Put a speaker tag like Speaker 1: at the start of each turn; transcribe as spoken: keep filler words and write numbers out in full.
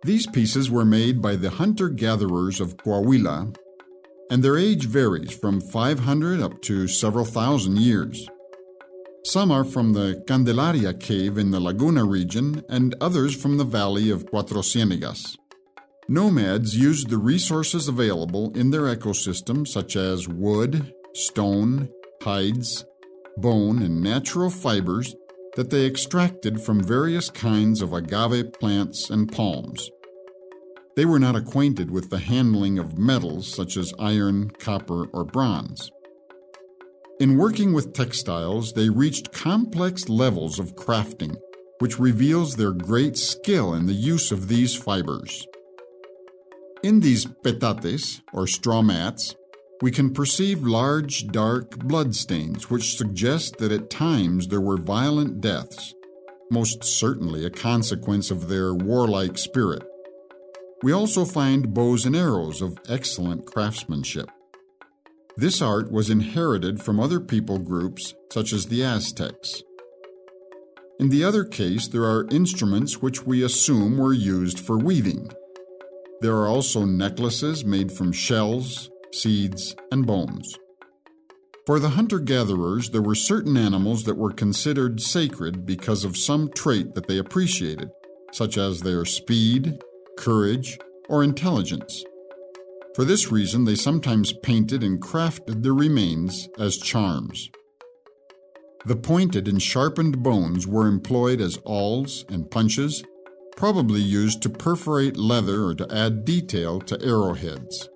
Speaker 1: These pieces were made by the hunter-gatherers of Coahuila, and their age varies from five hundred up to several thousand years. Some are from the Candelaria cave in the Laguna region and others from the valley of Cuatro Ciénegas. Nomads used the resources available in their ecosystem such as wood, stone, hides, bone, and natural fibers that they extracted from various kinds of agave plants and palms. They were not acquainted with the handling of metals such as iron, copper, or bronze. In working with textiles, they reached complex levels of crafting, which reveals their great skill in the use of these fibers. In these petates, or straw mats, we can perceive large, dark blood stains which suggest that at times there were violent deaths, most certainly a consequence of their warlike spirit. We also find bows and arrows of excellent craftsmanship. This art was inherited from other people groups, such as the Aztecs. In the other case, there are instruments which we assume were used for weaving. There are also necklaces made from shells, seeds, and bones. For the hunter-gatherers, there were certain animals that were considered sacred because of some trait that they appreciated, such as their speed, courage, or intelligence. For this reason, they sometimes painted and crafted their remains as charms. The pointed and sharpened bones were employed as awls and punches, probably used to perforate leather or to add detail to arrowheads.